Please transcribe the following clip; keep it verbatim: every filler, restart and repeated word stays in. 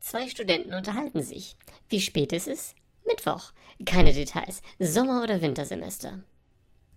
Zwei Studenten unterhalten sich. Wie spät ist es? Mittwoch. Keine Details. Sommer- oder Wintersemester.